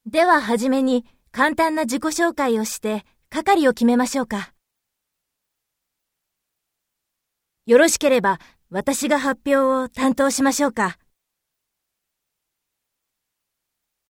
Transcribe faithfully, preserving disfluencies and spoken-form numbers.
でははじめに簡単な自己紹介をして係を決めましょうか。よろしければ私が発表を担当しましょうか。